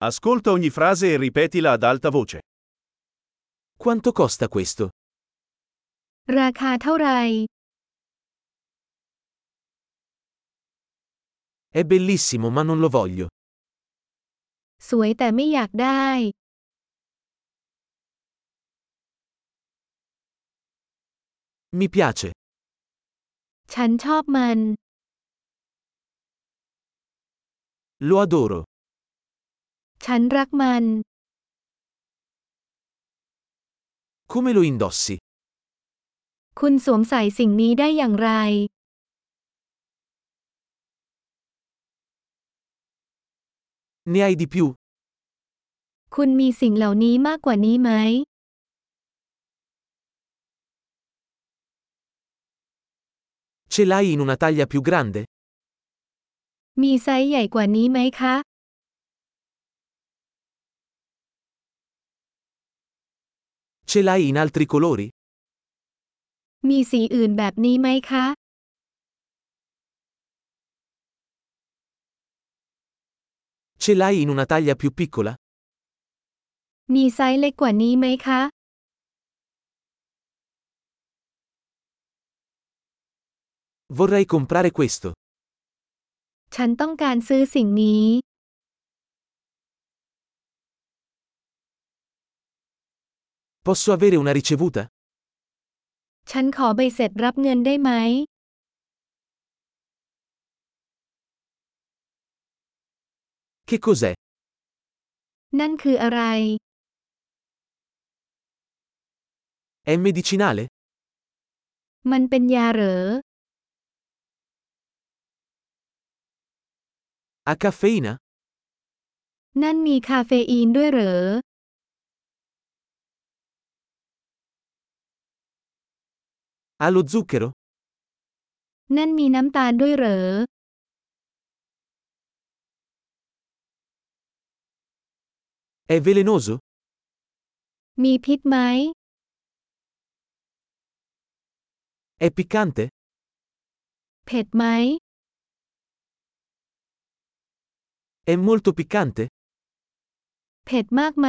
Ascolta ogni frase e ripetila ad alta voce. Quanto costa questo? ราคาเท่าไหร่ È bellissimo ma non lo voglio. สวยแต่ไม่อยากได้ Mi piace. ฉันชอบมัน Lo adoro. ฉันรักมัน Come lo indossi? คุณสวมใส่สิ่งนี้ได้อย่างไร Ne hai di più? คุณมีสิ่งเหล่านี้มากกว่านี้ไหม Ce l'hai in una taglia più grande? มีไซส์ใหญ่กว่านี้ไหมคะ Ce l'hai in altri colori? มีสีอื่นแบบนี้ไหมคะ Ce l'hai in una taglia più piccola? มีไซส์เล็กกว่านี้ไหมคะ Vorrei comprare questo. ฉันต้องการซื้อสิ่งนี้ Posso avere una ricevuta? ฉันขอใบเสร็จรับเงินได้ไหม Che cos'è? นั่นคืออะไร È medicinale? มันเป็นยาเหรอ Ha caffeina? นั่นมีคาเฟอีนด้วยเหรอ Ha lo zucchero? นั่นมีน้ำตาลด้วยเหรอ È velenoso? มีพิษไหม È piccante? เผ็ดไหม È molto piccante? เผ็ดมากไหม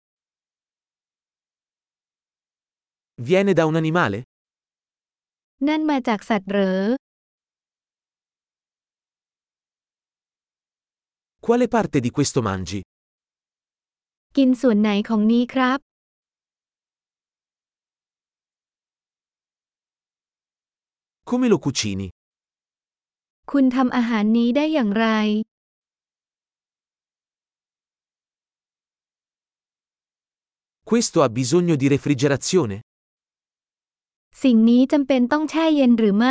Viene da un animale? นั่นมาจากสัตว์เหรอ Quale parte di questo mangi? กินส่วนไหนของนี้ครับ Come lo cucini? คุณทำอาหารนี้ได้อย่างไร Questo ha bisogno di refrigerazione? สิ่งนี้จำเป็นต้องแช่เย็นหรือไม่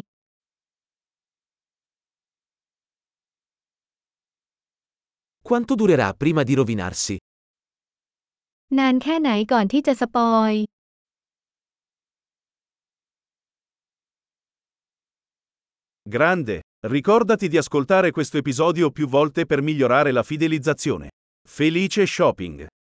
Quanto durerà prima di rovinarsi? นานแค่ไหนก่อนที่จะสปอย Grande! Ricordati di ascoltare questo episodio più volte per migliorare la fidelizzazione. Felice shopping!